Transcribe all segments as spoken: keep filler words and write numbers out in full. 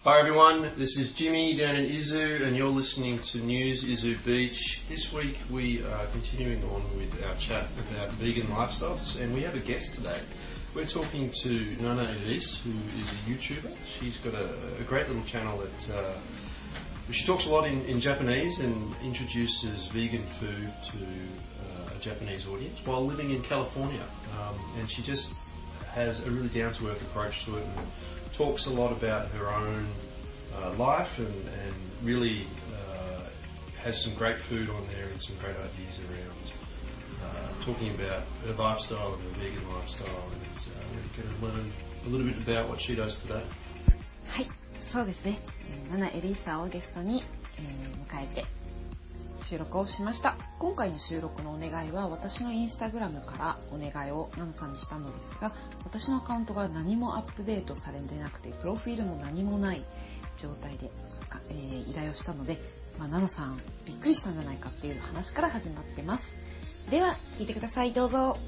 Hi everyone, this is Jimmy down in Izu and you're listening to News Izu Beach. This week we are continuing on with our chat about vegan lifestyles and we have a guest today. We're talking to Nana Elise, who is a YouTuber. She's got a, a great little channel that uh, she talks a lot in, in Japanese and introduces vegan food to uh, a Japanese audience while living in California. Um, and she just has a really down-to-earth approach to it and talks a lot about her own uh, life and, and really uh, has some great food on there and some great ideas around uh, talking about her lifestyle and her vegan lifestyle, and it's uh, we're going to learn a little bit about what she does today. はい、そうですね。ナナエリーさんをゲストに、えー、迎えて収録をしました。今回の収録のお願いは私のインスタグラムからお願いをナナさんにしたのですが、私のアカウントが何もアップデートされてなくてプロフィールも何もない状態で、えー、依頼をしたので、まあ、ナナさんびっくりしたんじゃないかっていう話から始まってます。では聞いてください、どうぞ。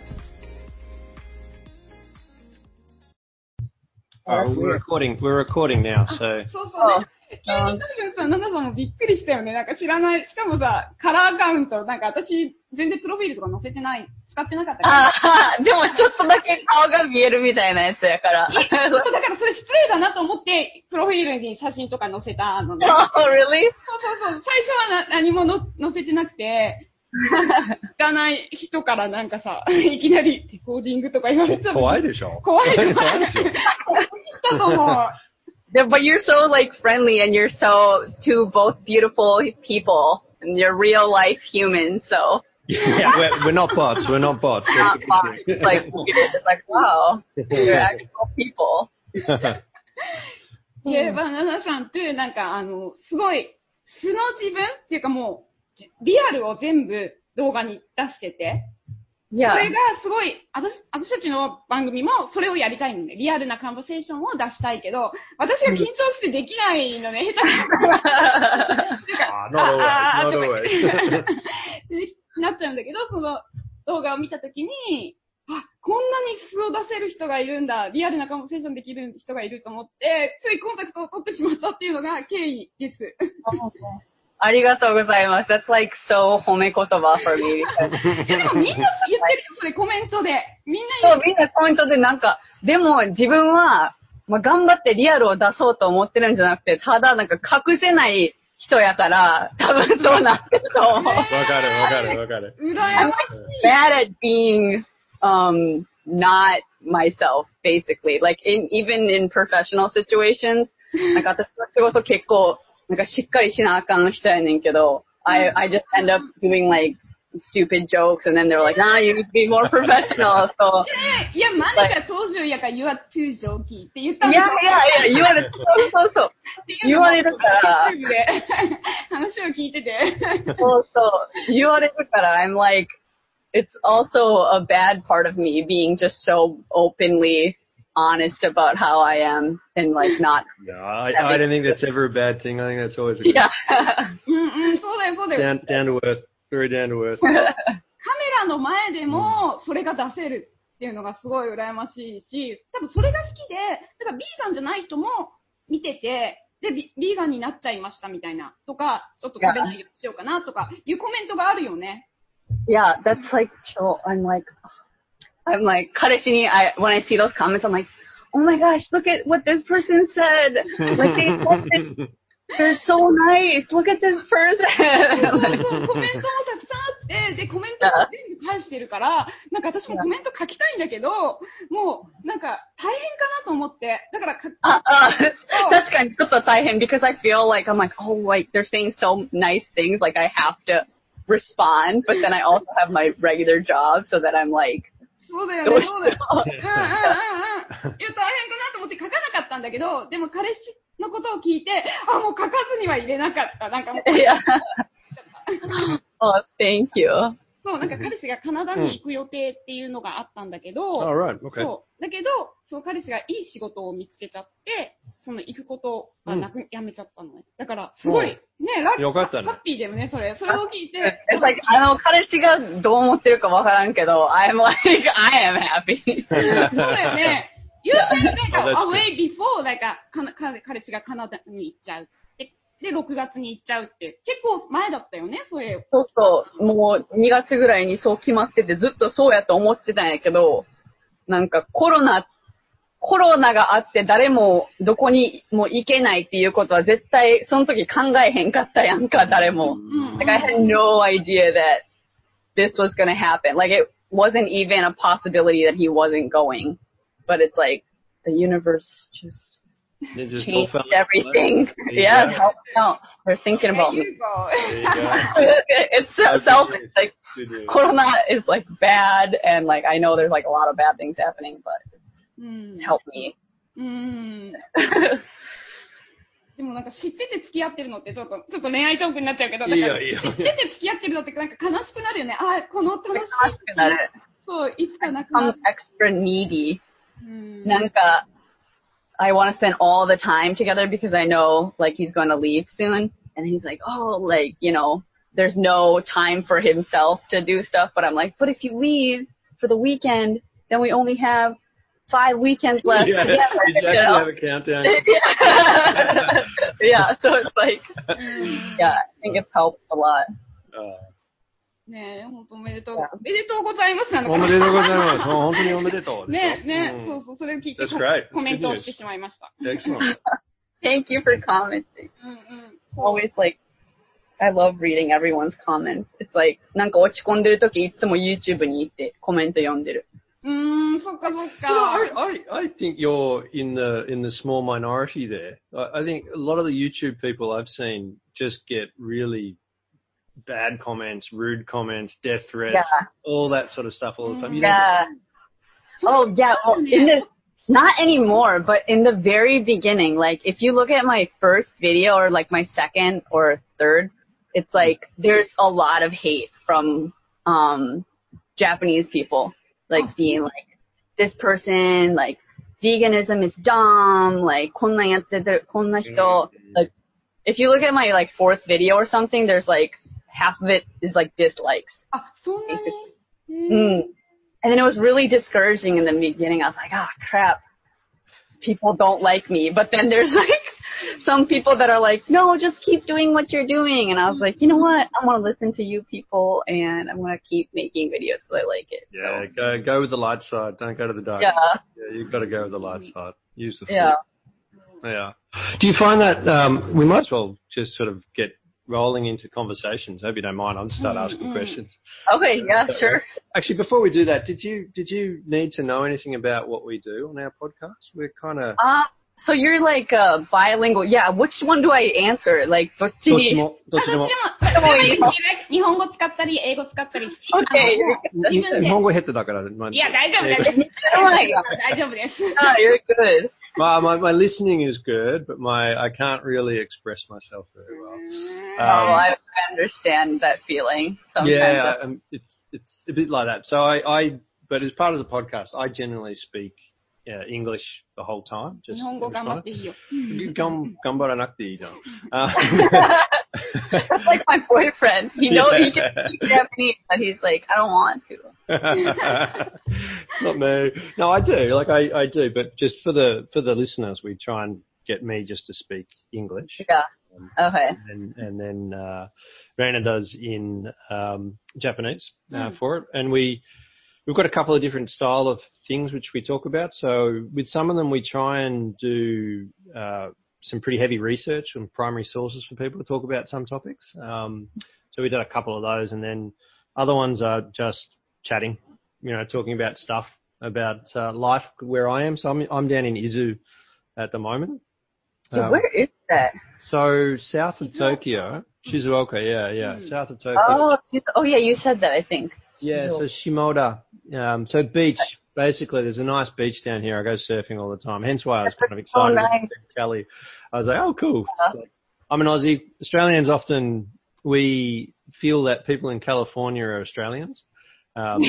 Uh, we're recording. We're recording now. So. そうそうね。急に多分さ、ナナさんもびっくりしたよね。なんか知らない。しかもさ、カラーアカウント、なんか私、全然プロフィールとか載せてない、使ってなかったから。 ああ、でもちょっとだけ顔が見えるみたいなやつやから。 そう、だからそれ失礼だなと思って、プロフィールに写真とか載せたのね。 Oh, really? そうそうそう。最初はな何もの載せてなくて、知らない人からなんかさ、いきなりレコーディングとか言われた。 怖いでしょ？ 怖い怖い。怖い人と思う。 But you're so like friendly and you're so two both beautiful people and you're real life humans, so. Yeah, we're, we're not bots. We're not bots. We're not bots. It's like it's like wow, you're actual people. で、バナナさんってなんかあのすごい素の自分っていうかもうリアルを全部動画に出してて。 Yeah. それがすごい、私、私たちの番組もそれをやりたいのね。リアルなカンバセーションを出したいけど、私が緊張してできないのね、下手な。 あ、not always, not always. なっちゃうんだけど、その動画を見たときに、あ、こんなに素を出せる人がいるんだ、リアルなカンバセーションできる人がいると思って、ついコンタクトを取ってしまったっていうのが経緯です。 ありがとうございます。That's like so 褒め言葉 for me. でもみんな言ってるよ、それコメントで。みんな言ってる。 そう、みんなコメントでなんか、でも自分は、まあ、頑張ってリアルを出そうと思ってるんじゃなくて、ただなんか隠せない人やから、多分そうなってると思う。わかるわかるわかる。 うらやましい。 I'm bad at being, um, not myself, basically. Like, in, even in professional situations, なんか私の仕事結構、なんかしっかりしなあかん人やねんけど、I, I just end up doing like stupid jokes and then they're like, nah, you need to be more professional. So, いや、マネが登場やから you are too jokey って言ったんだよ。いやいやいや、言われる。そうそうそう。言われるから。 YouTube で話を聞いてて。 そうそう。言われるから、I'm like, it's also a bad part of me being just so openly honest about how I am and like not. No, I, I don't think that's ever a bad thing. I think that's always a good yeah. うんうん、そうだよ、そうだよ。 Down, down to earth. Very down to earth. カメラの前でもそれが出せるっていうのがすごい羨ましいし、多分それが好きで、だからビーガンじゃない人も見てて、で、ビーガンになっちゃいましたみたいなとか、ちょっと食べないようにしようかなとかいうコメントがあるよね。 Yeah, that's like, I'm like, I'm like, 彼氏に、I, when I see those comments, I'm like, oh my gosh, look at what this person said. Like, they said they're so nice. Look at this person. そうそうそう、コメントもたくさんあって、で、コメントも全部返してるから、なんか私もコメント書きたいんだけど、もう、なんか大変かなと思って。だからか、 あ、あ、確かにちょっと大変 because I feel like, I'm like, oh, like, they're saying so nice things, like I have to respond, but then I also have my regular job, so that I'm like, そうだよね、そうだよ。うんうんうんうん。いや、大変かなと思って書かなかったんだけど、でも彼氏のことを聞いて、あ、もう書かずには入れなかった。なんかもう。いや。 oh, thank you. そう、なんか彼氏がカナダに行く予定っていうのがあったんだけど、 うん、right. okay. そう。だけど、その彼氏がいい仕事を見つけちゃって、その行くことがなく、うん、やめちゃったのね。だから、すごい、ね、ラッキー、 よかったね。 ハッピーだよね、それ。それを聞いて。 like, あの、彼氏がどう思ってるかわからんけど、I'm like, I am happy. そうだよね。 You said like Oh, that's away before, like a, かな彼彼氏がカナダに行っちゃう。で、で、ろくがつに行っちゃうって。結構前だったよね、それ。 そうそう。もうにがつぐらいにそう決まってて、ずっとそうやと思ってたんやけど、なんかコロナ、コロナがあって誰もどこにも行けないっていうことは絶対その時考えへんかったやんか、誰も。Like I had no idea that this was gonna happen. Like it wasn't even a possibility that he wasn't going. But it's like the universe just It just all changed fell into everything. place. There you Yeah, go. help out. They're thinking about There me. you go. There you go. It's so Oh, selfish. good Like news. Good news. Corona is like bad, and like I know there's like a lot of bad things happening, but うん。 help me. うん。でもなんか知ってて付き合ってるのってちょっと、ちょっと恋愛トークになっちゃうけど、だからいいよいいよ知ってて付き合ってるのってなんか悲しくなるよね。ああ、この楽しい。 悲しくなる。 そう、いつかなくな I'm る。 extra needy. うん。 なんか I want to spend all the time together because I know like he's going to leave soon, and he's like, oh, like you know, there's no time for himself to do stuff. But I'm like, but if you leave for the weekend, then we only have five weekends left Yeah, together. did you you actually know? have a countdown? yeah. yeah, so it's like, yeah, I think it's helped a lot. Uh, ねえ、本当おめでとう。おめでとうございますなのかな。 おめでとうございます。もう本当におめでとう。 ねえ、ねえ、 うんそうそう、それを聞いて That's great. コメントをしてしまいました。 Excellent. Thank you for commenting. うんうん。 Always like, I love reading everyone's comments. It's like, なんか落ち込んでるときいつも YouTube に行ってコメント読んでる。 うーん、そっかそっ You know, か。 I, I, I think you're in the in the small minority there. I, I think a lot of the YouTube people I've seen just get really bad comments, rude comments, death threats, Yeah. all that sort of stuff all the time. You don't Yeah. Oh, yeah. Well, in the, not anymore, but in the very beginning, like if you look at my first video or like my second or third, it's like there's a lot of hate from um Japanese people, like being like, this person, like veganism is dumb, like こんなんやってる、こんな人, like if you look at my like fourth video or something, there's like half of it is like dislikes. あ、そんなに。 Mm. And then it was really discouraging in the beginning. I was like, ah, crap. People don't like me. But then there's like some people that are like, no, just keep doing what you're doing. And I was like, you know what? I want to listen to you people, and I'm going to keep making videos because I like it. Yeah, So, go go with the light side. Don't go to the dark yeah. side. Yeah, you've got to go with the light side. Use the Yeah. flip. Yeah. Do you find that um, we might as well just sort of get rolling into conversations? I hope you don't mind. I'll start asking questions. Okay, yeah, sure. Actually, before we do that, did you did you need to know anything about what we do on our podcast? We're kind of Uh, so you're like uh, bilingual. Yeah, which one do I answer? Like, どっちに？ どっちもどっちでも。 でもいいの。日本語使ったり、英語使ったり。 Okay. に日本語下手だから。まあ、 いや、大丈夫、大丈夫。 Oh my god. 大丈夫です。 Oh, you're good. My, my my listening is good, but my I can't really express myself very well. Oh, I, I understand that feeling. Sometimes. Yeah, I, um, it's it's a bit like that. So I, I but as part of the podcast, I generally speak uh, English the whole time. Just 日本語頑張っていいよ。 Gam- 頑張らなくていいの。 Uh, That's like my boyfriend. He knows he can speak Japanese, but he's like, I don't want to. Not me. No, I do. Like I, I do, but just for the for the listeners, we try and get me just to speak English. Yeah. Okay. And and then uh, Raina does in um, Japanese uh, Mm. for it, and we we've got a couple of different style of things which we talk about. So with some of them, we try and do uh, some pretty heavy research and primary sources for people to talk about some topics. Um, so we did a couple of those, and then other ones are just chatting, you know, talking about stuff about uh, life where I am. So I'm I'm down in Izu at the moment. So Um, where is that? so south of Tokyo, Shizuoka, yeah, yeah, south of Tokyo. Oh, she's- oh yeah, you said that, I think. Yeah, so Shimoda. Um, so beach, basically, there's a nice beach down here. I go surfing all the time. Hence why I was kind of Oh, excited nice. to see Kelly. I was like, oh, cool. So, I'm an Aussie. Australians often, we feel that people in California are Australians. Um,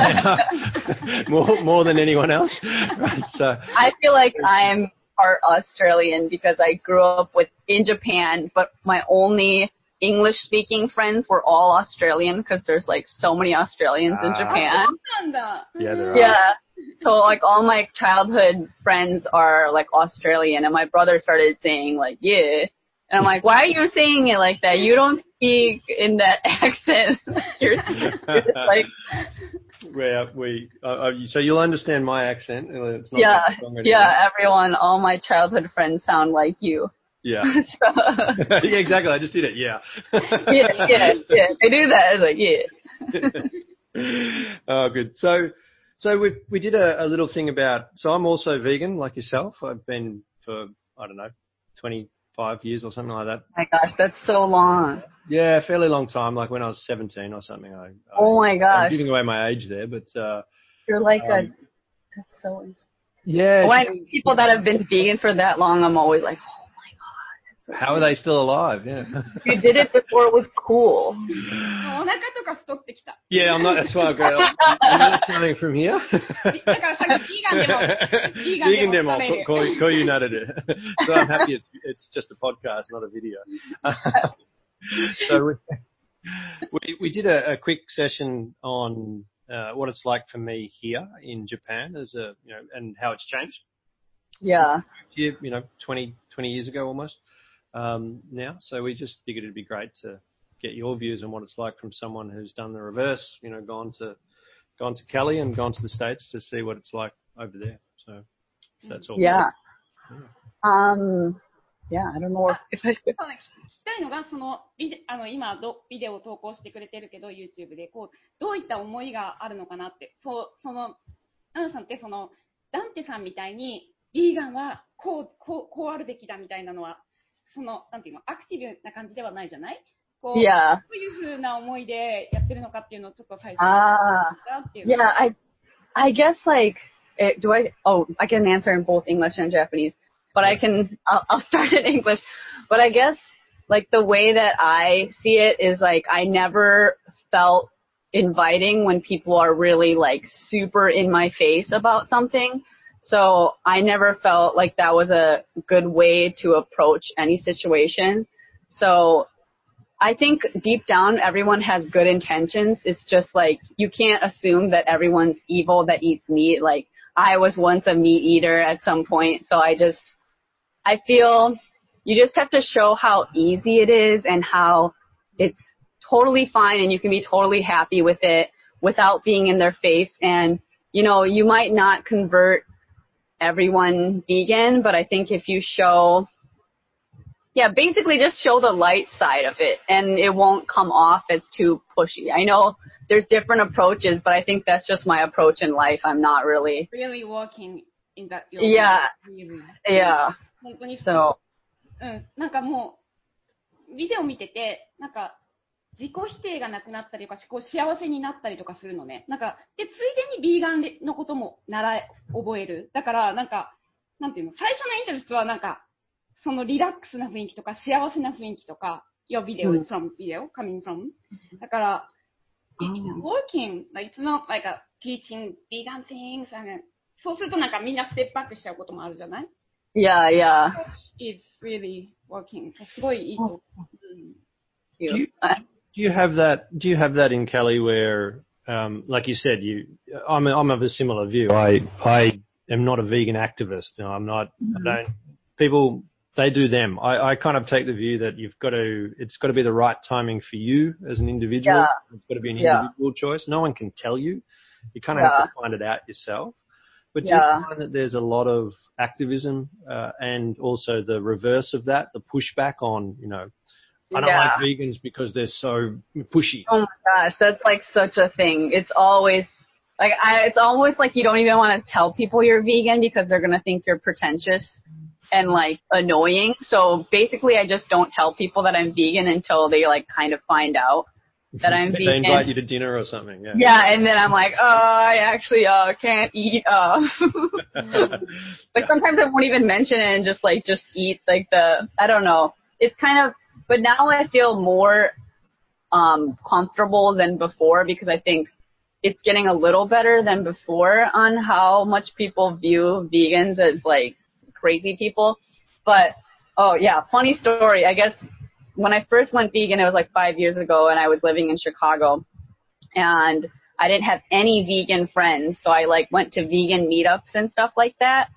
more, more, more than anyone else. Right, so, I feel like I'm part Australian because I grew up with in Japan, but my only English-speaking friends were all Australian because there's like so many Australians in Ah. Japan. なんだ。 yeah, there are. Yeah, So like all my childhood friends are like Australian, and my brother started saying like yeah, and I'm like, why are you saying it like that? You don't speak in that accent. you're, you're just like Where we, uh, uh, so you'll understand my accent. It's not yeah, strong yeah. Everyone, all my childhood friends sound like you. Yeah. so, yeah, exactly. I just did it. Yeah. yeah, yeah, yeah. They do that. It's like yeah. Oh, good. So, so we we did a, a little thing about. So I'm also vegan, like yourself. I've been for I don't know, twenty-five years or something like that. My gosh, that's so long. Yeah, a fairly long time. Like when I was seventeen or something. I, I oh my gosh. I'm giving away my age there, but uh, you're like um, a. That's so. Yeah. When I know people that have been vegan for that long, I'm always like, oh my god. So how are they still alive? Yeah. You did it before it was cool. お腹とか太ってきた。 Yeah, I'm not. That's why I go. I'm not coming from here. だからさっきビーガンでも、ビーガン Vegan で demo. も食べる。 Call, call you nutted it. So I'm happy it's it's just a podcast, not a video. so we, we we did a, a quick session on uh, what it's like for me here in Japan as a you know and how it's changed. Yeah. You know, twenty, twenty years ago almost um, now. So we just figured it'd be great to get your views on what it's like from someone who's done the reverse. You know, gone to gone to Cali and gone to the States to see what it's like over there. So that's all. Yeah. yeah. Um. Yeah. I don't know if I should. そうね、聞きたいのが、そのビデあの今どビデオを投稿してくれてるけど YouTube でこうどういった思いがあるのかなって、そうそのアナさんってそのダンテさんみたいにビーガンはこうこうこうあるべきだみたいなのはそのなんていうのアクティブな感じではないじゃない？こう Yeah. どういう風な思いでやってるのかっていうのをちょっと最初に Ah. っていう。 Yeah. I. I guess like. It, do I? Oh, I can answer in both English and Japanese, but I can. I'll, I'll start in English. But I guess like the way that I see it is like I never felt inviting when people are really like super in my face about something. So I never felt like that was a good way to approach any situation. So I think deep down everyone has good intentions. It's just like you can't assume that everyone's evil that eats meat. Like I was once a meat eater at some point, so I just I feel you just have to show how easy it is and how it's totally fine and you can be totally happy with it without being in their face. And, you know, you might not convert everyone vegan, but I think if you show, yeah, basically just show the light side of it and it won't come off as too pushy. I know there's different approaches, but I think that's just my approach in life. I'm not really. Really working in that. Yeah. Really. Yeah. 本当に So. うん、なんかもうビデオ見ててなんか自己否定がなくなったりとかこう幸せになったりとかするのね。なんかでついでにビーガンのことも習え覚える。だからなんかなんていうの最初のインタレストはなんかそのリラックスな雰囲気とか幸せな雰囲気とか your video is from video coming from だから it's working like it's not like a teaching vegan things and そうするとなんかみんなステップバックしちゃうこともあるじゃない Yeah, yeah. It's really working. すごいいいと。 Do you, do you have that? Do you have that in Cali where, um, like you said, you? I'm I'm of a similar view. I I am not a vegan activist. You know, I'm not. Mm-hmm. I don't. People they do them. I I kind of take the view that you've got to. It's got to be the right timing for you as an individual. Yeah. It's got to be an individual yeah. choice. No one can tell you. You kind of yeah. have to find it out yourself. But do yeah. you find that there's a lot of activism uh, and also the reverse of that, the pushback on, you know, I don't yeah. like vegans because they're so pushy. Oh my gosh, that's like such a thing. It's always like I, it's almost like you don't even want to tell people you're vegan because they're gonna think you're pretentious and like annoying. So basically, I just don't tell people that I'm vegan until they like kind of find out that I'm they vegan. They invite you to dinner or something. Yeah. Yeah, and then I'm like, oh, I actually uh can't eat. Uh. Like sometimes I won't even mention it and just like just eat like the I don't know. It's kind of. But now I feel more um, comfortable than before because I think it's getting a little better than before on how much people view vegans as like crazy people. But, oh yeah, funny story. I guess when I first went vegan, it was like five years ago and I was living in Chicago. And I didn't have any vegan friends, so I like went to vegan meetups and stuff like that.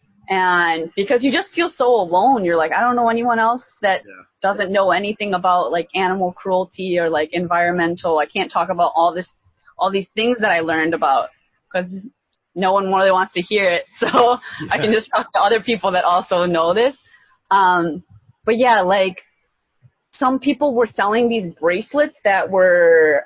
And because you just feel so alone, you're like, I don't know anyone else that Yeah. doesn't know anything about like animal cruelty or like environmental. I can't talk about all this, all these things that I learned about because no one really wants to hear it. So Yeah. I can just talk to other people that also know this. Um, but yeah, like some people were selling these bracelets that were,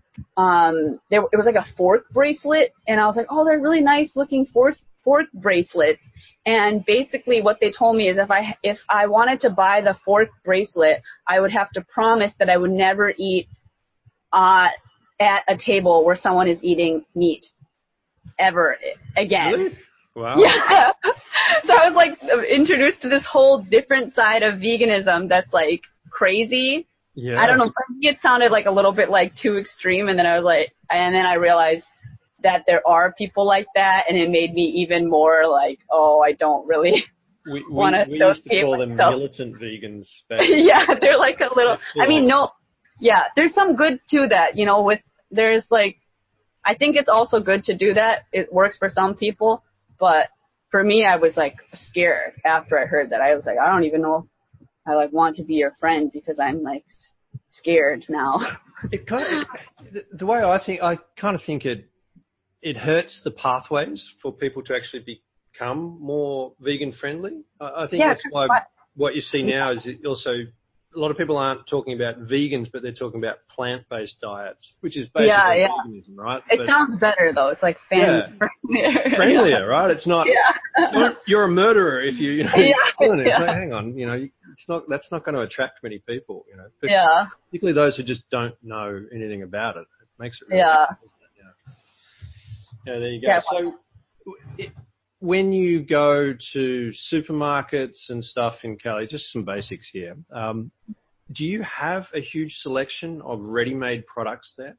um, they, it was like a fork bracelet, and I was like, oh, they're really nice looking fork fork bracelets. And basically, what they told me is if I if I wanted to buy the fork bracelet, I would have to promise that I would never eat uh, at a table where someone is eating meat ever again. Really? Wow. Yeah. So I was like introduced to this whole different side of veganism that's like crazy. Yeah. I don't know. For me, it sounded like a little bit like too extreme, and then I was like, and then I realized that there are people like that, and it made me even more like, oh, I don't really We, we, want to we used to associate call them myself. militant vegans. Back Yeah, they're like a little. They're I mean, full no, yeah, there's some good to that. You know, with there's like, I think it's also good to do that. It works for some people, but for me, I was like scared after I heard that. I was like, I don't even know if I like want to be your friend because I'm like scared now. It kind of, it, the way I think, I kind of think it, it hurts the pathways for people to actually become more vegan friendly. I, I think Yeah, that's why what- what you see now is it also a lot of people aren't talking about vegans, but they're talking about plant-based diets, which is basically Yeah, yeah. veganism, right? It But sounds better though. It's like family friendlier. friendlier, right? It's not. Yeah. You're, you're a murderer if you, you know, Yeah, you're doing it. It's yeah. like, hang on, you know, it's not. That's not going to attract many people, you know. But Yeah. particularly those who just don't know anything about it. It makes it really Yeah. difficult, doesn't it? Yeah. Yeah, there you go. Yeah, So, it, when you go to supermarkets and stuff in Cali, just some basics here. Um, do you have a huge selection of ready-made products there?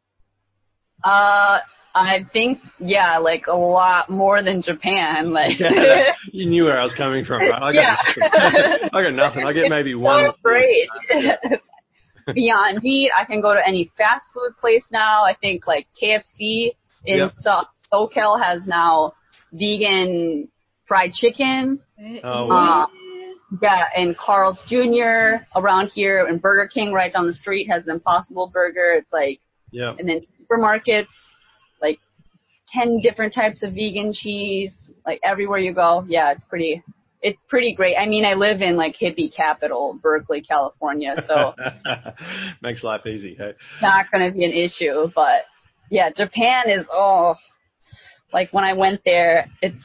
Uh, I think yeah, like a lot more than Japan. Like Yeah, you knew where I was coming from, right? I got Yeah. nothing. I got nothing. I get maybe one. so great. Beyond Meat, I can go to any fast food place now. I think like K F C in Yep. so- SoCal has now vegan fried chicken. Oh, Uh, wow. yeah, and Carl's Junior around here, and Burger King right down the street has the Impossible Burger. It's like, Yeah. and then supermarkets, like ten different types of vegan cheese, like everywhere you go. Yeah, it's pretty, it's pretty great. I mean, I live in like hippie capital, Berkeley, California, so Makes life easy. Hey? not going to be an issue. But yeah, Japan is, oh, like when I went there, it's,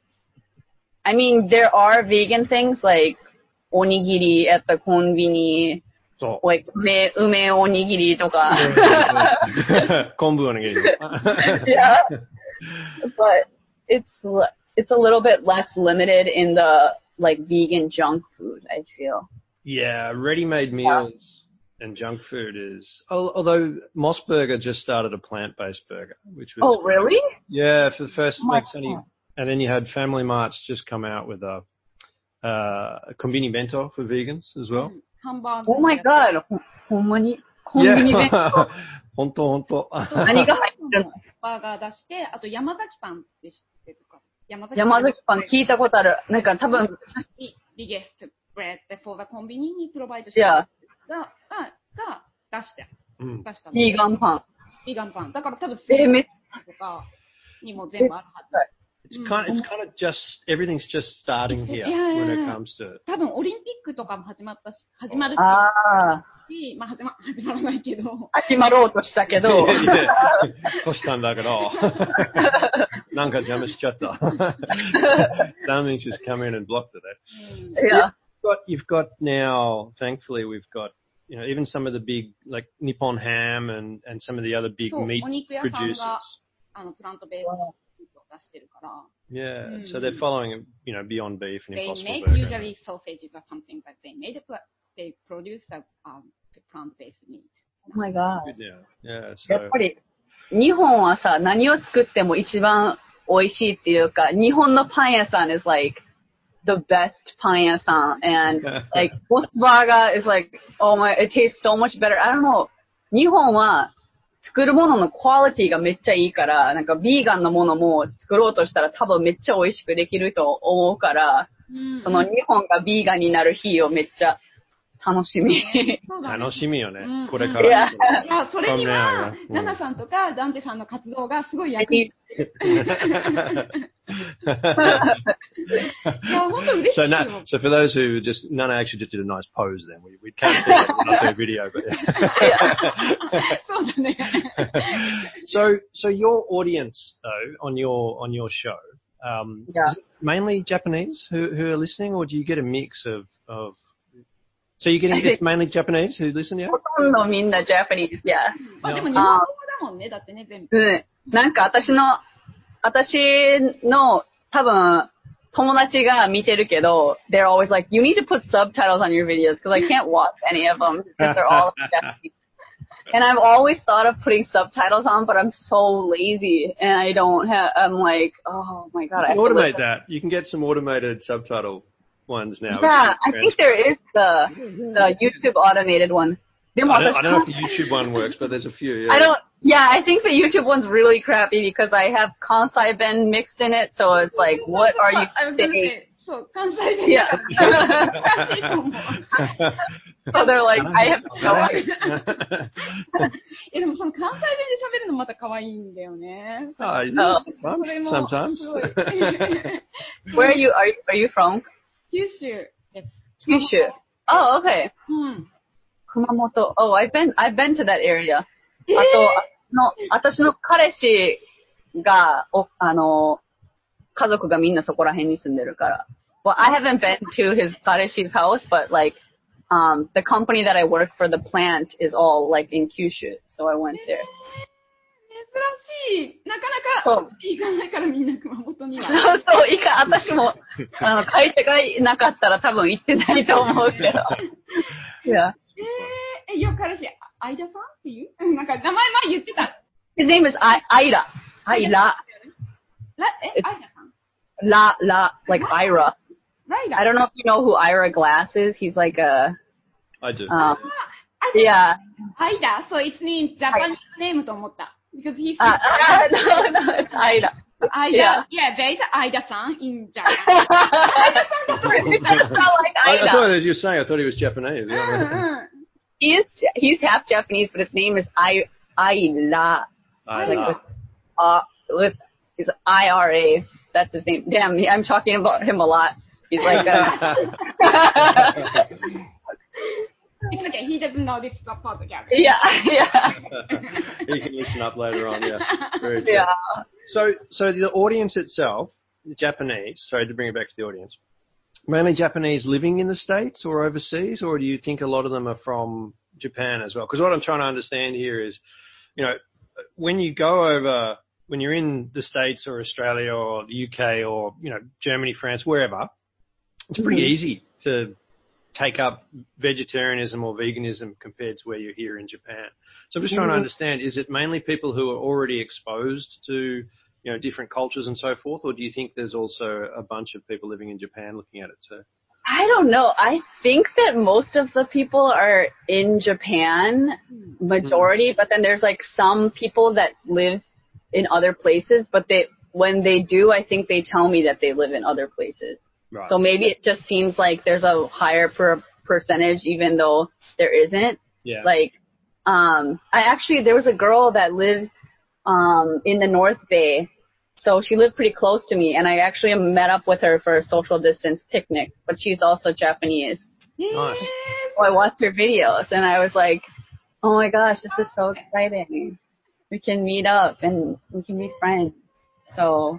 I mean, there are vegan things like onigiri at the konbini, So. like ume, ume onigiri とか。 昆布おにぎり。 Yeah. But it's l- it's a little bit less limited in the like vegan junk food, I feel. Yeah, ready-made meals and junk food is. al- Although Moss Burger just started a plant-based burger, which was. Oh, really? Yeah, for the first. Oh my like, it's only- God. and then you had Family Mart's just come out with a, uh, a konbini bento for vegans as well. ハンバーグ。 Oh my god. ほほんまにコンビニ弁当本当本当。 何が入ってるの？ バーガー出して、あと山崎パンって知ってるか。山崎山崎パン聞いたことある。なんか多分、 ビビゲストブレッド for the コンビニにプロバイドしてる Yeah. が、が、が出して、 うん出したの。 ビーガンパン。 ビーガンパン。だから多分、 えー、めっとかにも全部あるはず。 It's kind. It's kind of just everything's just starting here Yeah, when it yeah, yeah. comes to. 多分オリンピックとかも始まったし、始まるってああ。 し、まあ始ま、始まらないけど。 始まろうとしたけど。 そしたんだけど。なんか邪魔しちゃった。Something just come in and blocked it. Eh? Yeah. You've got, you've got now, thankfully, we've got, you know, even some of the big, like Nippon Ham and, and some of the other big そう、 meat お肉屋さん producers. が、あの、プラントベースのミートを出してるから。 Yeah, so Mm. they're following, you know, Beyond Beef and They Impossible make Burger. usually sausages or something, but they made a, pla- they produce a um, plant-based meat. Oh my god. Good now. Yeah, や so っぱり、日本はさ、何を作っても一番美味しいっていうか、日本のパン屋さん is like the best パン屋さん and like Moss Burger is like, oh my, it tastes so much better. I don't know. 日本は作るもののクオリティがめっちゃいいから、なんかビーガンのものも作ろうとしたら多分めっちゃ美味しくできると思うから、うん、その日本がビーガンになる日をめっちゃ楽しみ。 楽しみよね。うん、これから。いや、 いやそれには、ナナさんとかダンテさんの活動がすごい役に立つ。いや、本当嬉しいよ。 So, now, so for those who just, Nana actually just did a nice pose then. We, we can't see that on the video, but so, so your audience though, on your, on your show, um, yeah. is it mainly Japanese who, who are listening, or do you get a mix of, of, so you're getting, it's mainly Japanese who listen, yeah? ほとんどみんな Japanese, yeah. あ、でも日本語だもんね、だってね、全部。 うん。なんか私の、私の多分友達が見てるけど、they're always like, you need to put subtitles on your videos because I can't watch any of them because they're all Japanese. And I've always thought of putting subtitles on, but I'm so lazy and I don't have, I'm like, oh my god. You can automate that. You can get some automated subtitle ones now. Yeah, I think there is the, the YouTube automated one. I don't, I don't know if the YouTube one works, but there's a few, yeah. I don't, yeah, I think the YouTube one's really crappy because I have Kansai Ben mixed in it, so it's like, what are you saying? So, Kansai Ben. Yeah. So they're like, I have no idea. え、でもその関西弁で喋るのまた可愛いんだよね。 Oh, yeah. Sometimes. Where are you, are you, are you from? 九州です。 九州. Oh, okay. うん。 熊本. Oh, I've been, I've been to that area. あと、の、私の彼氏が、お、あの、家族がみんなそこら辺に住んでるから。Well, I haven't been to his 彼氏 house, but like, um, the company that I work for, the plant is all like in Kyushu, so I went there. 珍しい。なかなか行かないからみんな熊本には。 そうそう、いか、私も、あの、会社がなかったら多分行ってないと思うけど。いや。 えー、いや、彼氏、相田さんっていうなんか名前前言ってた。 His name is Ira. Ira. ら、え、相田さん La, La, like Ira. Ira. I don't know if you know who Ira Glass is. He's like a... I do. Um, yeah. Ida, so it's in Japanese name と思った。Because he's... Uh, uh, no, no, it's Ida. Ida, yeah, yeah there is Ida-san in Japan. Ida-san だと思った。 It's not like I, Ida. I thought as you were saying, I thought he was Japanese. Yeah. He is, he's half Japanese, but his name is I, Ira. I like with, uh, with, he's I R A. That's his name. Damn, I'm talking about him a lot. He's like a... It's okay. He doesn't know this is a podcast. Yeah, yeah. He can listen up later on. Yeah, very true. Yeah. So, so the audience itself, the Japanese. Sorry to bring it back to the audience. Mainly Japanese living in the States or overseas, or do you think a lot of them are from Japan as well? Because what I'm trying to understand here is, you know, when you go over, when you're in the States or Australia or the U K or, you know, Germany, France, wherever, it's pretty mm-hmm. easy to take up vegetarianism or veganism compared to where you're here in Japan. So I'm just trying mm-hmm. to understand, is it mainly people who are already exposed to, you know, different cultures and so forth, or do you think there's also a bunch of people living in Japan looking at it too? I don't know. I think that most of the people are in Japan, majority, mm-hmm. but then there's like some people that live in other places, but they, when they do, I think they tell me that they live in other places. Right. So maybe it just seems like there's a higher per percentage, even though there isn't. Yeah. Like, um, I actually, there was a girl that lived, um, in the North Bay. So she lived pretty close to me, and I actually met up with her for a social distance picnic, but she's also Japanese. Nice. So I watched her videos, and I was like, oh my gosh, this is so exciting. We can meet up, and we can be friends. So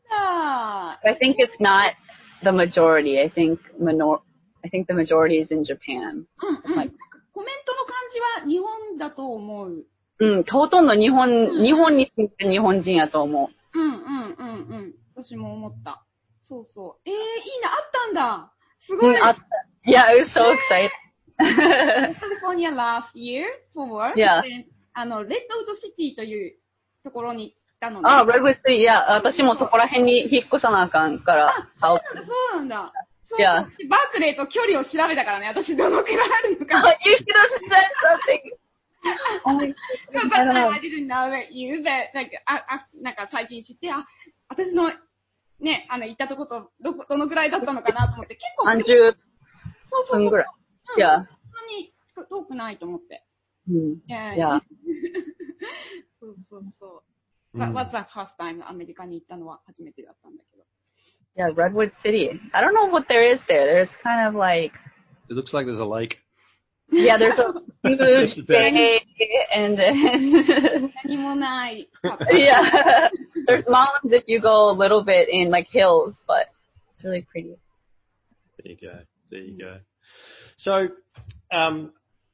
I think it's not the majority. I think minor I think the majority is in Japan. うんうん。コメントの感じは日本だと思う。 うん、ほとんど日本、日本に住んでる日本人やと思う。うんうんうんうん。私も思った。そうそう。えー、いいな、あったんだ。すごい。 うん、あった。Yeah, it was so exciting. California last year for work. Yeah. あの、レッドウッドシティというところにたのね。 あ、Redwood City、いや、私もそこら辺に引っ越さなあかんから。 あ、そうなんだ。そうなんだ。 そう。バークレーと距離を調べたからね、私どのくらいあるのか。 You should have said something. Oh my But god. I didn't know that you, that, like, あ、あ、なんか最近知って、あ、私の、ね、あの、行ったとこと、どこ、どのぐらいだったのかなと思って、結構、 さんじゅっそうそうそう。 ぷんぐらい。 うん、 Yeah. そんなに遠くないと思って。 うん。 いや Yeah. そうそうそう。What was the first time アメリカに行ったのは初めてだったんだけど。 Yeah, Redwood City. I don't know what there is there. There's kind of like, It looks like there's a lake. yeah, there's a huge bay and then, 何もない。 yeah, there's mountains if you go a little bit in like hills, but it's really pretty. There you go. There you go. So, um,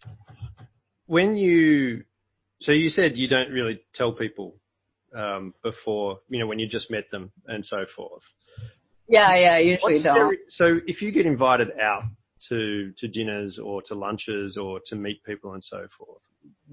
when you, so you said you don't really tell people um, before, you know, when you just met them and so forth. Yeah, yeah, usually What's don't. there, so if you get invited out to to dinners or to lunches or to meet people and so forth,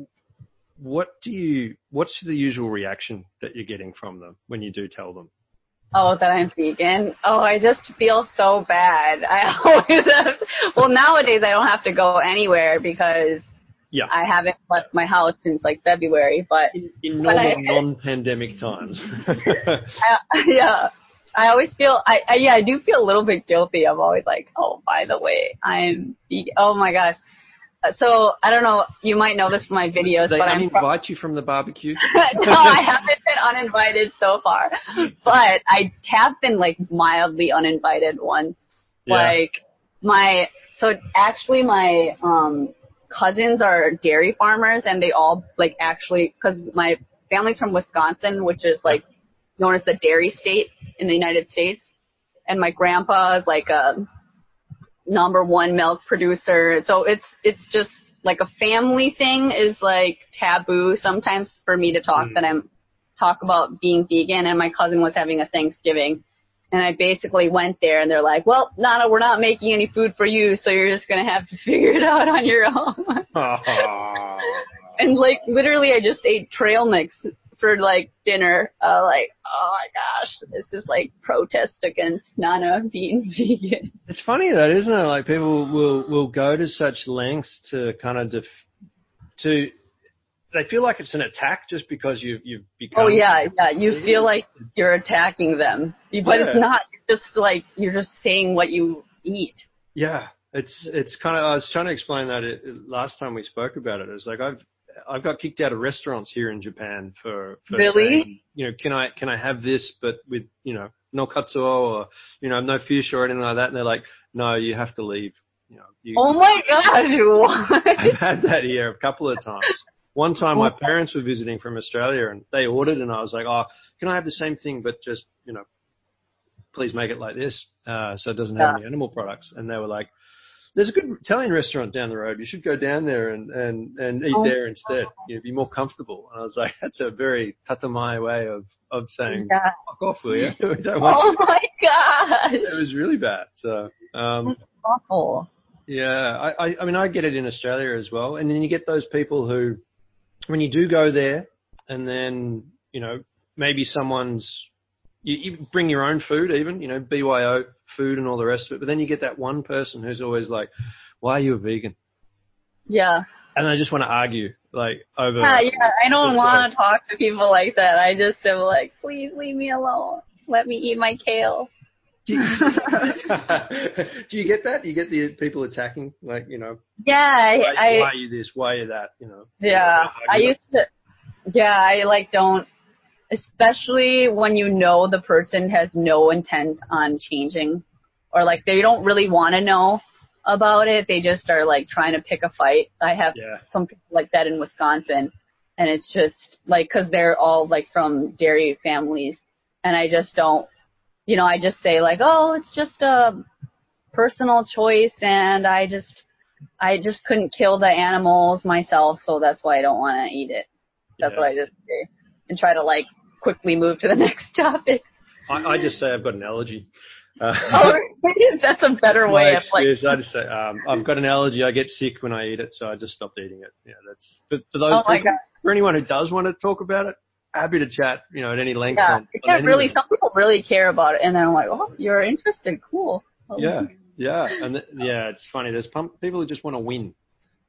what do you, what's the usual reaction that you're getting from them when you do tell them? Oh, that I'm vegan. Oh, I just feel so bad. I always have to, well, nowadays I don't have to go anywhere because Yeah. I haven't left my house since like February, but In, in normal I, non-pandemic times. I, yeah, I always feel, I, I, yeah, I do feel a little bit guilty. I'm always like, oh, by the way, I'm vegan. Oh my gosh. So, I don't know, you might know this from my videos, They but I'm uninvite you from the barbecue? no, I haven't been uninvited so far, but I have been like mildly uninvited once. Yeah. Like my, so actually my um cousins are dairy farmers and they all like actually, cause my family's from Wisconsin, which is like known as the dairy state in the United States. And my grandpa is like a number one milk producer. So it's, it's just like a family thing is like taboo sometimes for me to talk Mm. that I'm talk about being vegan. And my cousin was having a Thanksgiving and I basically went there and they're like, well, Nana, we're not making any food for you. So you're just going to have to figure it out on your own. And like literally I just ate trail mix for like dinner. Uh, like, oh my gosh, this is like protest against Nana being vegan. It's funny that, isn't it? Like people will, will go to such lengths to kind of def- to, they feel like it's an attack just because you, you've become. Oh yeah, yeah. You feel like you're attacking them, but Yeah. it's not. You're just like you're just saying what you eat. Yeah, it's it's kind of. I was trying to explain that it, last time we spoke about it. It's like I've I've got kicked out of restaurants here in Japan for, for Really? saying, you know, can I can I have this but with, you know, no katsuo or, you know, no fish or anything like that, and they're like, no, you have to leave. You know. You, Oh my gosh! What? I've had that here a couple of times. One time my parents were visiting from Australia and they ordered and I was like, oh, can I have the same thing but just, you know, please make it like this uh, so it doesn't have Yeah. any animal products. And they were like, there's a good Italian restaurant down the road. You should go down there and, and, and eat Oh. there instead. You know, be more comfortable. And I was like, that's a very tatamai way of, of saying, Yeah. fuck off, will you? We don't want Oh you. my gosh! It was really bad. So, um, That's awful. yeah, I, I, I mean, I get it in Australia as well. And then you get those people who, when you do go there and then, you know, maybe someone's, you, you bring your own food even, you know, B Y O food and all the rest of it. But then you get that one person who's always like, why are you a vegan? Yeah. And I just want to argue, like, over. Yeah, yeah. I don't just want like- to talk to people like that. I just am like, please leave me alone. Let me eat my kale. Do you, do you get that? Do you get the people attacking, like, you know, Yeah, I, why, I why are you this? Why are you that? You know. yeah, I used to. Yeah, I like don't. Especially when you know the person has no intent on changing, or like they don't really want to know about it. They just are like trying to pick a fight. I have Yeah. some people like that in Wisconsin, and it's just like because they're all like from dairy families, and I just don't. You know, I just say like, oh, it's just a personal choice, and I just, I just couldn't kill the animals myself, so that's why I don't want to eat it. That's Yeah. what I just say, and try to like quickly move to the next topic. I, I just say I've got an allergy. Uh, Oh, that's a better that's way my of like. excuse. I just say um, I've got an allergy. I get sick when I eat it, so I just stopped eating it. Yeah, that's. But for those Oh my people, God. for anyone who does want to talk about it, happy to chat. You know, at any length. Yeah, on, yeah, on really. anything. Some people really care about it, and then I'm like, oh, you're interested, cool. Oh. Yeah, yeah, and th- yeah, it's funny. There's pump, people who just want to win,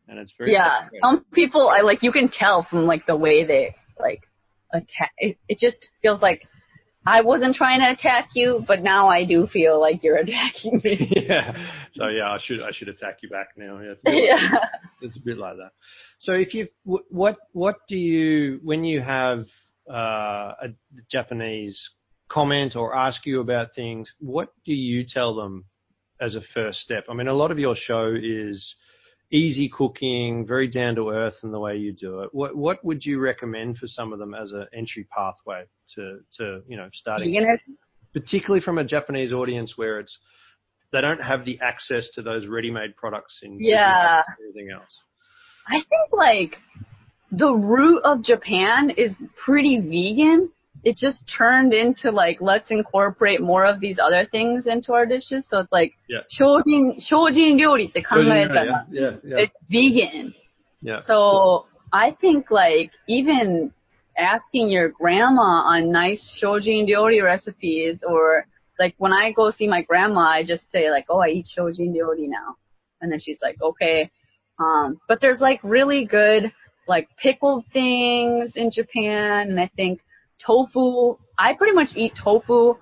and it's very Yeah, some people, I like, you can tell from like the way they like attack. It, it just feels like I wasn't trying to attack you, but now I do feel like you're attacking me. Yeah. So yeah, I should I should attack you back now. Yeah. It's a bit, Yeah. like, it's a bit like that. So if you what what do you when you have uh, a Japanese comment or ask you about things, what do you tell them as a first step? I mean, a lot of your show is easy cooking, very down to earth in the way you do it. What what would you recommend for some of them as an entry pathway to, to you know, starting, Beginners? particularly from a Japanese audience where it's they don't have the access to those ready-made products in Yeah. and everything else? I think like the root of Japan is pretty vegan. It just turned into like, let's incorporate more of these other things into our dishes. So it's like, Yeah. 精進, 精進料理って考えたら Yeah, yeah, yeah. it's vegan. Yeah. So I think like even asking your grandma on nice shojin ryori recipes, or like when I go see my grandma, I just say like, oh, I eat shojin ryori now. And then she's like, okay. Um, but there's like really good like pickled things in Japan. And I think tofu, I pretty much eat tofu.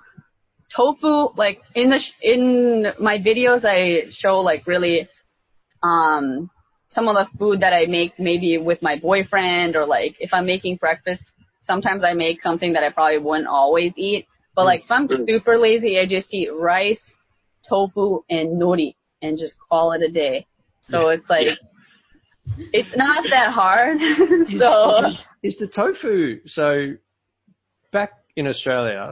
Tofu, like in the, sh- in my videos, I show like really, um, some of the food that I make maybe with my boyfriend, or like if I'm making breakfast, sometimes I make something that I probably wouldn't always eat. But like if I'm super lazy, I just eat rice, tofu, and nori and just call it a day. So Yeah. it's like, yeah. It's not that hard. Is, So is the tofu, so back in Australia,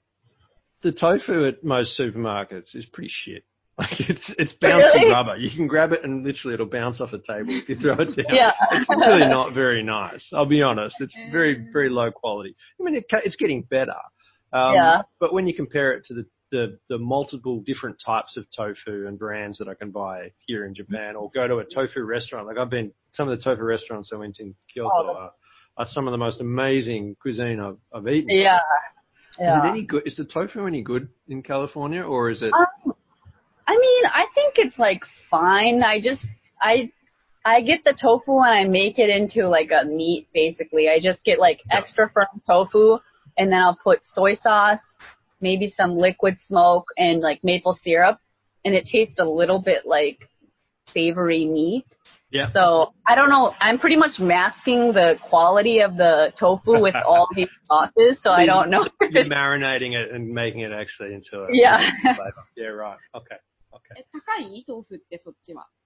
the tofu at most supermarkets is pretty shit. Like it's it's bouncy Really? rubber. You can grab it and literally it'll bounce off a table if you throw it down. Yeah. It's really not very nice. I'll be honest. It's very very low quality. I mean, it, it's getting better. Um, Yeah. But when you compare it to the, the the multiple different types of tofu and brands that I can buy here in Japan, or go to a tofu restaurant, like I've been some of the tofu restaurants I went in Kyoto Oh, are, are some of the most amazing cuisine I've I've eaten. yeah. Yeah. Is it any good? Is the tofu any good in California, or is it? Um, I mean, I think it's like fine. I just, I, I get the tofu and I make it into like a meat basically. I just get like Yeah. extra firm tofu, and then I'll put soy sauce, maybe some liquid smoke, and like maple syrup, and it tastes a little bit like savory meat. Yeah. So I don't know. I'm pretty much masking the quality of the tofu with all these sauces, so I don't know. You're marinating it and making it actually into a Yeah. flavor. Yeah, right. Okay. Okay. え、高い豆腐ってそっちは。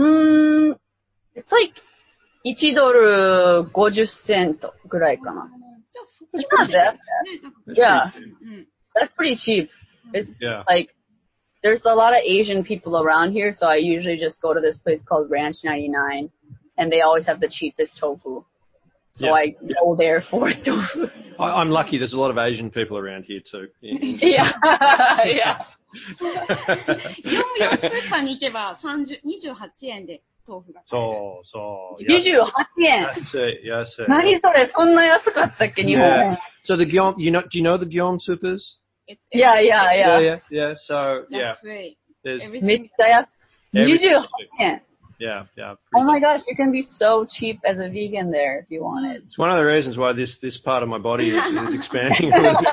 Mm, it's like いちドルごじゅっセントぐらいかな。 じゃあそっ It's ち not that bad. ね、なんか、 Yeah, うん。 that's pretty cheap. It's Yeah. like, there's a lot of Asian people around here, so I usually just go to this place called Ranch ninety-nine, and they always have the cheapest tofu. So Yeah. I go there for tofu. I, I'm lucky. There's a lot of Asian people around here too. In- in- Yeah, yeah. 業務用スーパーに行けばさんじゅう、にじゅうはちえんで豆腐が買える。 そうそう。 にじゅうはちえん。 安い安い。 何それ、そんな安かったっけ、日本。 Yeah. So the Gyeom, you know, do you know the Gyeom supers? It's- Yeah, yeah, Yeah, yeah. yeah, yeah. So yeah, 安い。 there's Everything- めっちゃ安い。 Everything. にじゅうはちえん。 yeah, yeah. Oh my gosh, you can be so cheap as a vegan there if you wanted. It's one of the reasons why this, this part of my body is, is expanding a little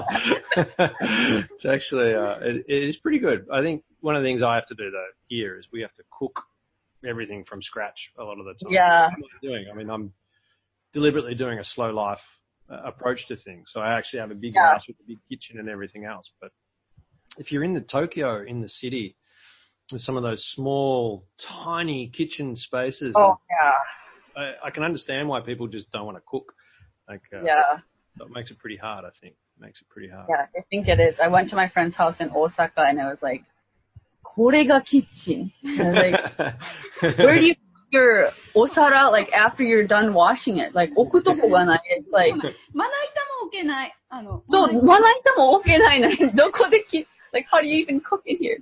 bit more. It's actually, uh, it, it is pretty good. I think one of the things I have to do though here is we have to cook everything from scratch a lot of the time. Yeah. That's what I'm doing. I mean, I'm deliberately doing a slow life uh, approach to things. So I actually have a big Yeah. house with a big kitchen and everything else. But if you're in the Tokyo, in the city, with some of those small, tiny kitchen spaces, Oh, yeah. I, I can understand why people just don't want to cook. Like, uh, Yeah. That makes it pretty hard, I think. It makes it pretty hard. Yeah, I think it is. I went to my friend's house in Osaka and I was like, これがキッチン. And I was like, where do you put your osara, like, after you're done washing it? Like, 置くとこがない. It's like, まな板も置けない。あの、 そう、 まな板まな板も置けないのに、どこでき、like, how do you even cook in here?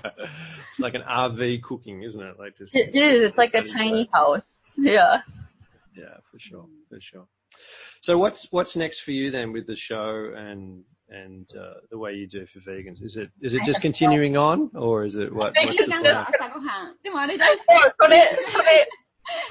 It's like an R V cooking, isn't it? Like just It is. It's like a tiny house. Yeah. Yeah, for sure, for sure. So what's what's next for you then with the show and and uh, the way you do for vegans? Is it is it just continuing on, or is it what? What's the なん plan? か朝ごはん。でもあれ大好き。 そう、それ、それ、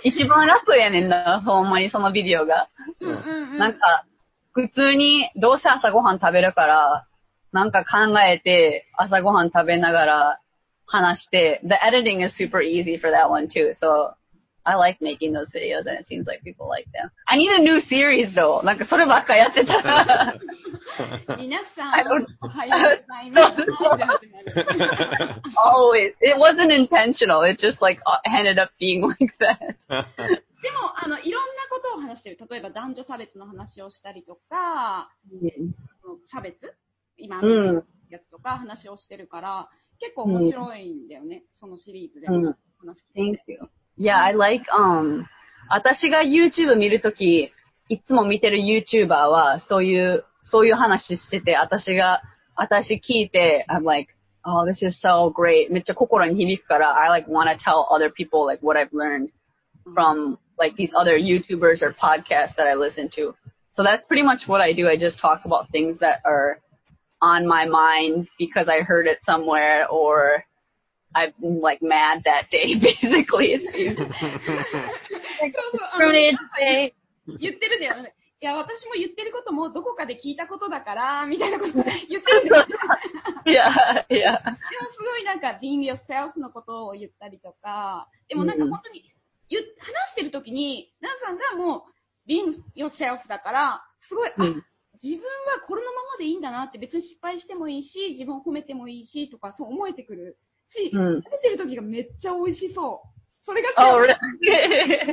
一番楽やねんな、ほんまにそのビデオが。 うんうんうん。 なんか、普通にどうせ朝ごはん食べるから、なんか考えて朝ごはん食べながら話して、the editing is super easy for that one too, so I like making those videos and it seems like people like them. I need a new series though. なんかそればっかやってたら。 皆さ I don't- ん、おはようございます。で始まる Always. It wasn't intentional. It just like ended up being like that. でも、あの、いろんなことを話してる。例えば男女差別の話をしたりとか、差別今のやつとか話をしてるから、結構面白いんだよね。そのシリーズでも話聞いて。 Thank you. Yeah, I like, um, 私が YouTube 見るとき、いつも見てる YouTuber は、そういう、そういう話してて、私が、私聞いて、I'm like, oh, this is so great. めっちゃ心に響くから、I like want to tell other people like what I've learned from like these other YouTubers or podcasts that I listen to. So that's pretty much what I do. I just talk about things that are on my mind because I heard it somewhere or I've been like mad that day, basically. そうそうあの言ってるんだよね。いや、私も言ってることもどこかで聞いたことだから、みたいなこと言ってるんだよ。 いや、いや。 でもすごいなんか、being yourself のことを言ったりとか、でもなんか本当に言、話してるときに、ナンさんがもう、being yourself だから、すごい、あ、 うん、 自分はこのままでいいんだなって、別に失敗してもいいし、自分を褒めてもいいし、とかそう思えてくるし、 うん、 食べてるときがめっちゃ美味しそう。それがあ、俺。 なんか、喋ってる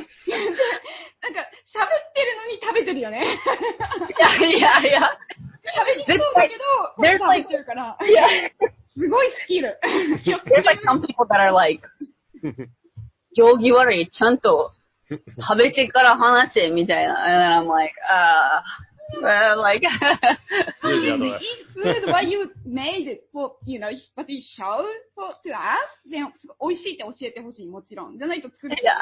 のに食べてるよね。 いやいやいや。 食べにくそうだけど、喋ってるから。すごいスキル。 There's like some people that are like, 行儀悪い、ちゃんと食べてから話せ、みたいな。And I'm like, ah, uh, like, eat food what you made for, you know, what you showed for, to us. で、美味しいって教えてほしい、もちろん。じゃないと作れない。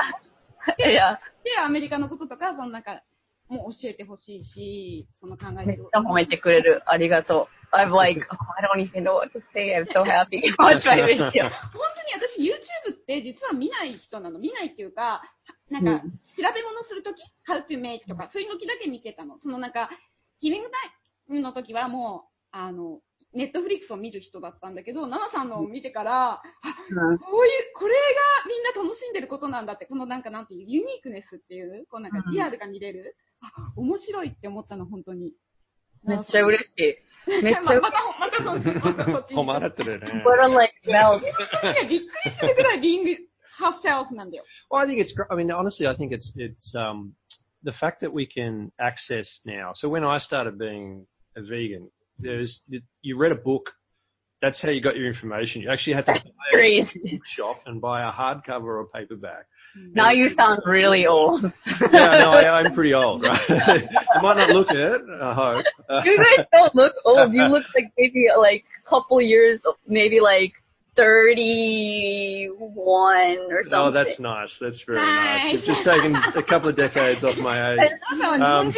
いや。 で、アメリカのこととか、そのなんか、もう教えてほしいし、その考えめっちゃ褒めてくれる。ありがとう。I'm like, oh, I don't even know what to say. I'm so happy to watch my video. 本当に私 YouTube って実は見ない人なの。見ないっていうか、なんか、調べ物するとき、how to make とか、そういうのだけ見てたの。そのなんか、キリングタイムの時はもう、あの、ネットフリックスを見る人だったんだけど、ナナさんのを見てから、あ、 うん、 こういう、これがみんな楽しんでることなんだって、このなんかなんていう、ユニークネスっていう、こうなんかリアルが見れる。あ、面白いって思ったの、本当に。 めっちゃ嬉しい。めっちゃ嬉しい。 また、またそ、またそっちに。 誉れてるね。 But I'm like, well, びっくりするぐらい being herself なんだよ。 Well, I think it's. I mean, honestly, I think it's it's um the fact that we can access now. So when I started being a vegan, there's you read a book. That's how you got your information. You actually had to buy a bookshop and buy a hardcover or a paperback. Now you sound really old. Yeah, no, I, I'm pretty old, right? You might not look it, I hope. You guys don't look old. You look like maybe like a couple years, maybe like thirty-one or something. Oh, that's nice. That's very nice. You've just taken a couple of decades off my age. Um,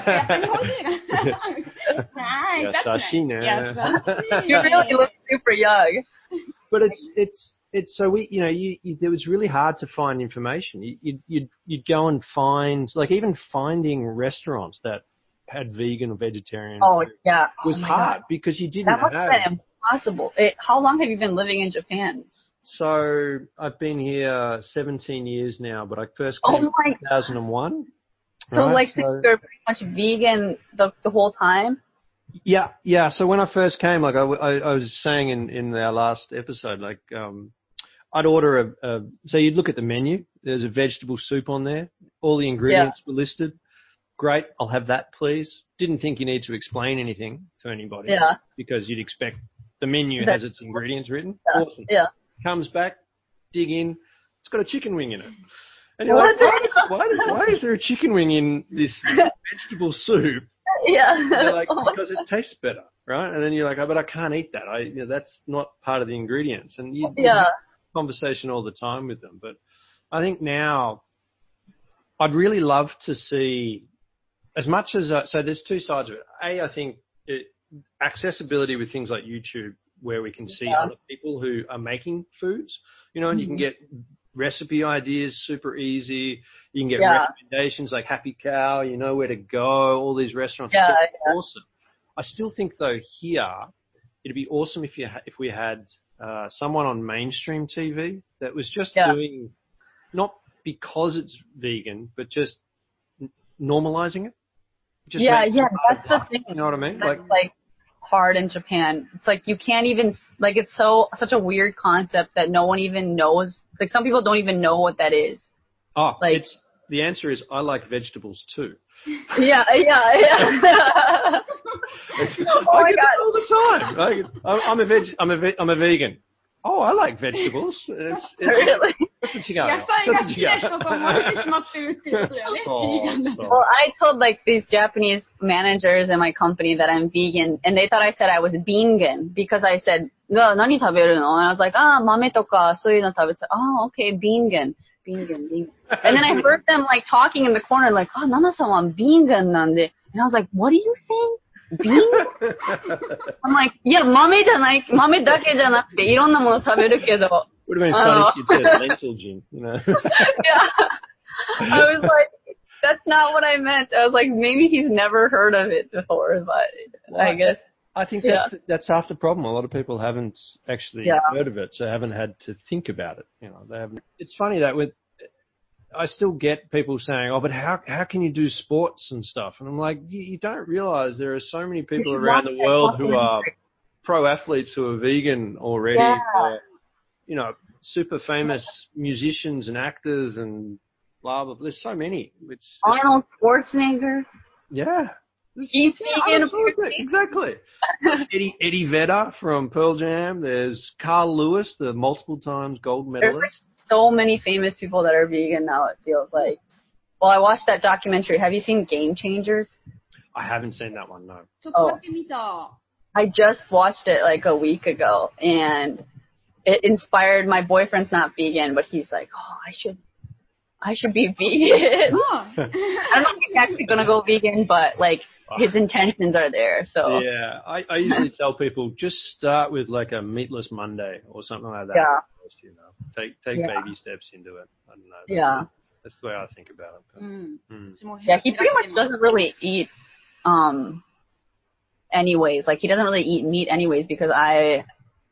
優しいね。 You really look super young. But it's it's it's so we you know you, you it was really hard to find information. You, you'd you'd you'd go and find like even finding restaurants that had vegan or vegetarian. Oh yeah, was oh hard God. because you didn't that must have. Have been impossible. It, how long have you been living in Japan? So I've been here seventeen years now, but I first came oh in two thousand one. So right? like so, you're pretty much vegan the the whole time. Yeah, yeah. So when I first came, like I, I, I was saying in, in our last episode, like um, I'd order a, a. So you'd look at the menu. There's a vegetable soup on there. All the ingredients yeah. were listed. Great, I'll have that, please. Didn't think you need to explain anything to anybody. Yeah. Because you'd expect the menu that, has its ingredients written. Yeah. Awesome. Yeah. Comes back, dig in. It's got a chicken wing in it. And you're like, why is, why, why is there a chicken wing in this vegetable soup? Yeah. And they're like, because it tastes better, right? And then you're like, oh, but I can't eat that. I, you know, that's not part of the ingredients. And you, yeah. you have a conversation all the time with them. But I think now I'd really love to see as much as, uh, so there's two sides of it. A, I think it, accessibility with things like YouTube where we can see yeah. other people who are making foods, you know, and mm-hmm. you can get recipe ideas super easy. You can get Yeah. recommendations like Happy Cow. You know where to go. All these restaurants. Yeah, It's yeah. awesome. I still think though here it'd be awesome if you ha- if we had uh, someone on mainstream T V that was just Yeah. doing not because it's vegan, but just n- normalizing it. Just Yeah, making yeah, it part of that's the life, thing. You know what I mean? That's Like, like hard in Japan. It's like you can't even like it's so such a weird concept that no one even knows. Like some people don't even know what that is. oh, like- it's the answer is I like vegetables too. Yeah, yeah, yeah. It's, Oh I my get God. that all the time. I, I'm I'm a veg. I'm a ve- I'm a vegan. Oh, I like vegetables. It's, it's Really? ちょっと違うよ。 野菜が好きな人とちょっと違う。 思われてしまってるっていうことだよね。 そうそう Well, I told like these Japanese managers in my company that I'm vegan, and they thought I said I was vegan because I said, "何食べるの?" And I was like, "Ah, 豆とかそういうの食べて." "Ah, okay, vegan, vegan, vegan." And then I heard them like talking in the corner, like, "Ah, Nana-sanはveganなんで." And I was like, "What are you saying? Vegan?" I'm like, "Yeah, 豆じゃない、豆だけじゃなくていろんなもの食べるけど." Would have been Oh. funny if you said lentil gin, you know. Yeah. I was like, that's not what I meant. I was like, maybe he's never heard of it before, but Well, I guess. I think Yeah. that's that's half the problem. A lot of people haven't actually Yeah. heard of it, so haven't had to think about it. You know, they haven't. It's funny that with I still get people saying, "Oh, but how how can you do sports and stuff?" And I'm like, you, you don't realize there are so many people should around watch the that world who are documentary. pro athletes who are vegan already. Yeah. Or, you know, super famous musicians and actors and blah blah. There's so many. It's, it's Arnold Schwarzenegger. yeah. He's vegan. Absolutely, exactly. Eddie Eddie Vedder from Pearl Jam. There's Carl Lewis, the multiple times gold There's medalist. like so many famous people that are vegan now, it feels like. Well, I watched that documentary. Have you seen Game Changers? I haven't seen that one, no. ちょっとだけ見た。 I just watched it like a week ago, and it inspired my boyfriend's not vegan, but he's like, oh, I should, I should be vegan. うん。 I don't know if he's actually gonna go vegan, but like his intentions are there. So Yeah, I, I usually tell people just start with like a meatless Monday or something like that. Yeah. First, you know, take take Yeah. baby steps into it. I don't know. yeah, That's the way I think about it. う But, ん。 mm. 私も yeah. He 減ら pretty して much ます doesn't really eat, um, anyways. Like he doesn't really eat meat anyways because I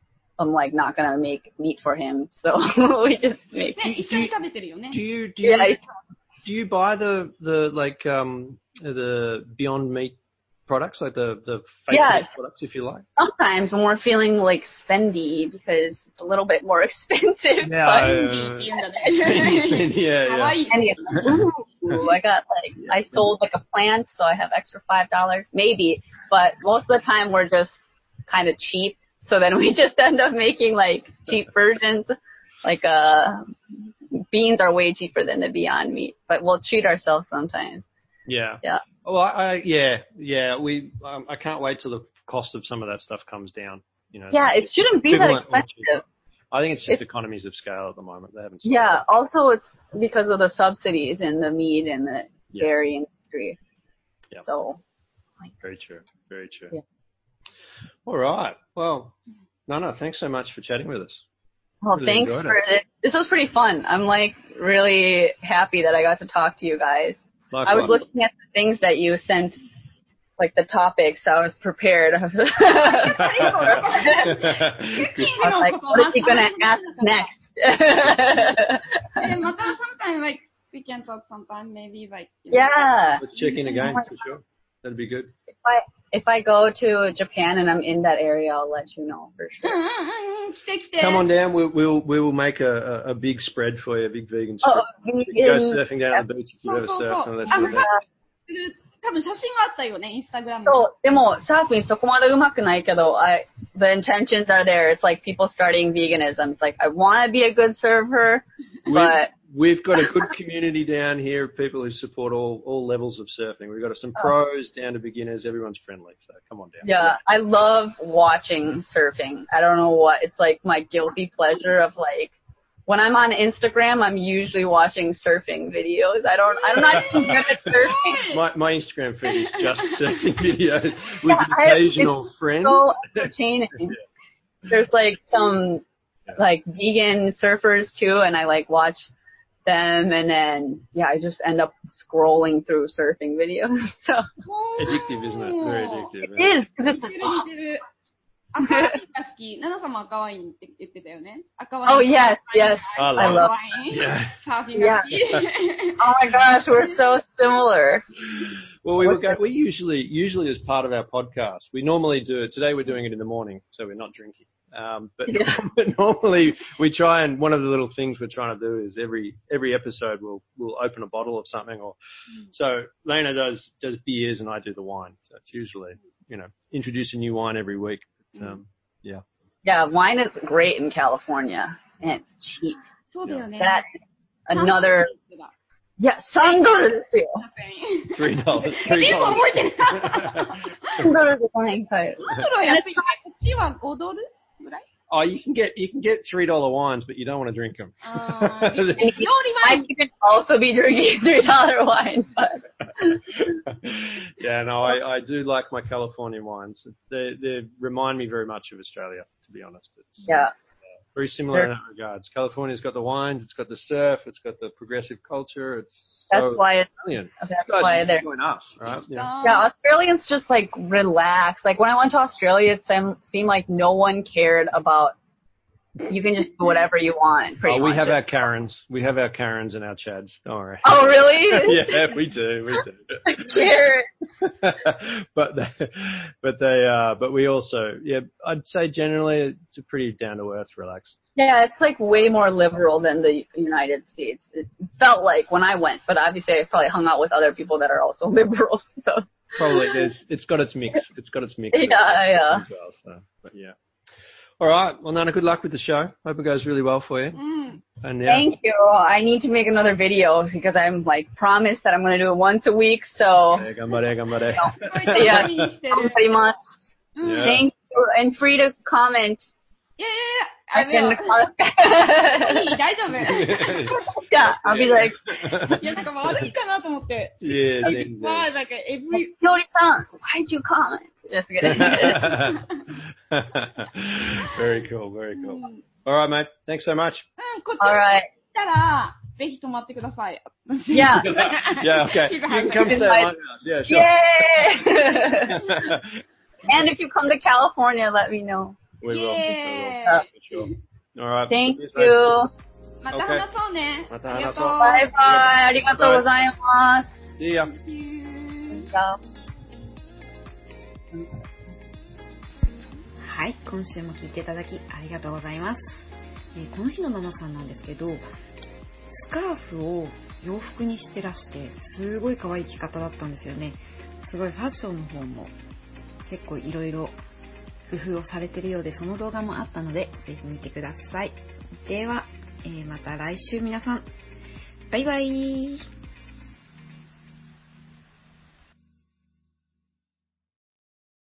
am like not gonna make meat for him. So we just make. ね、一緒に食べてるよね Do。you do you Yeah, I- do you buy the the like um the Beyond Meat products, like the the fake Yes. meat products, if you like? sometimes when we're feeling like spendy because it's a little bit more expensive. Yeah, but, ベンディって言うんだ Spendy, ね。 spendy, yeah, かわ yeah. いい。 And it's like, ooh, I got like, I sold like a plant, so I have extra five dollars, maybe. But most of the time we're just kind of cheap. So then we just end up making like cheap versions. Like, uh, beans are way cheaper than the Beyond Meat, but we'll treat ourselves sometimes. Yeah. Yeah. Well, I, I yeah, yeah. We um, I can't wait till the cost of some of that stuff comes down. You know. Yeah, it shouldn't be that Equivalent or cheaper. expensive. I think it's just It's- economies of scale at the moment. They haven't. Yeah, also it's because of the subsidies in the meat and the Yeah. dairy industry. Yeah. So, Very true. Very true. Yeah. All right. Well, Nana, thanks so much for chatting with us. well, Really thanks enjoyed for it. This was pretty fun. I'm like really happy that I got to talk to you guys. I was Likewise. looking at the things that you sent, like the topics. So I was prepared. I was Good. like, what is he gonna ask next? え、また sometime like we can talk sometime maybe like. you know, Yeah. Let's check in again for sure. That'd be good. If I if I go to Japan and I'm in that area, I'll let you know for うん sure. うんうんうん、来て来て。 Come on down. We'll we'll we will make a, a, a big spread for you, a big vegan spread. Oh, We can go vegan. surfing down at the beach if you've そう ever そうそう。 surfed and that あ sort の of さ thing.、 多分写真があったよね、インスタグラムに。 そう、でも、サーフィンそこまで上手くないけど、I, the intentions are there. It's like people starting veganism. It's like, I want to be a good surfer, but We've got a good community down here of people who support all, all levels of surfing. We've got some pros down to beginners. Everyone's friendly, so come on down. yeah, I love watching surfing. I don't know what, it's like my guilty pleasure of like, when I'm on Instagram, I'm usually watching surfing videos. I don't, I'm not even good at surfing. My, my Instagram feed is just surfing videos with Yeah, an I- occasional friend. So entertaining. There's like some like vegan surfers too, and I like watch them, and then yeah, I just end up scrolling through surfing videos. So Addictive, isn't it? Very addictive. it is because 似 it's て like る似てる。赤ワインが好き。ナナさんも赤ワインって言ってたよね。赤ワイン。 oh yes, yes, I I love love. 赤ワイン。 Yeah. サーフィンが好き。 Oh my gosh, we're so similar. Well, we were go, we usually usually as part of our podcast, we normally do it. Today we're doing it in the morning, so we're not drinking. Um, but, Yeah. but normally we try, and one of the little things we're trying to do is every every episode we'll we'll open a bottle of something, or so Lena does does beers and I do the wine. So it's usually, you know, introduce a new wine every week. But, um, yeah. Yeah, wine is great in California, and it's cheap. そうだよね。 That another だ yeah, さんドルですよ。 Three dollars. で Three も dollars. 覚えてる。 さんドルでワイン買える。 さんドルは安いね。こっちはごドルぐらい Oh, you can get you can get three dollar wines, but you don't want to drink them. あー料理 I ワイン。 can also be drinking three dollar wine, but Yeah, no, I, I do like my California wines. They they remind me very much of Australia, to be honest. It's yeah. very similar in that regards. California's got the wines, it's got the surf, it's got the progressive culture. It's That's so why it's brilliant. that's You guys why should they're join us, right? Yeah. yeah, Australians just like relax. Like when I went to Australia, it seemed, seemed like no one cared about. You can just do whatever you want. Pretty Oh, we much. have our Karens. We have our Karens and our Chads. Don't worry. Oh really? Yeah, we do. We do. Care. but they, but they, uh, but we also, yeah, I'd say generally it's a pretty down to earth, relaxed. Yeah, it's like way more liberal than the United States. It felt like when I went, but obviously I probably hung out with other people that are also liberal. So Probably there's, it's got its mix. It's got its mix. yeah, yeah. As well, so, but yeah. All right. Well, Nana, good luck with the show. Hope it goes really well for you. うん。 And yeah. Thank you. I need to make another video because I'm like promised that I'm going to do it once a week. So Yeah, gambare, gambare. すごい楽しみにしてる。 pretty much. うん。 Yeah. Thank you, and free to comment. いやいやい I や、あ can. の、いい、大丈夫。 Yeah, I'll be like, いや、なんか悪いかなと思って。 Yeah, then, まあ、 then. なんか、every、 Yori-san, why'd you comment? Just kidding. Very cool. Very う cool. ん、 All right, mate. Thanks so much. こっち All に right. 来たら、ぜひ泊まってください。 Yeah. Yeah, okay. You can come stay at my house. Yeah, sure. Yay! And if you come to California, let me know. We will. We will. Yeah. For sure. All right. Thank Cheers, mate. you. また話そうね。 また話そうありがとう。 バイバイ。ありがとうございます。 See ya. Thank you. はい、今週も聞いていただきありがとうございます。えーこの日のナナさんなんですけど、スカーフを洋服にしてらして、すごい可愛い着方だったんですよね。すごいファッションの方も結構いろいろ工夫をされているようで、その動画もあったので、ぜひ見てください。では、えーまた来週皆さん、バイバイ。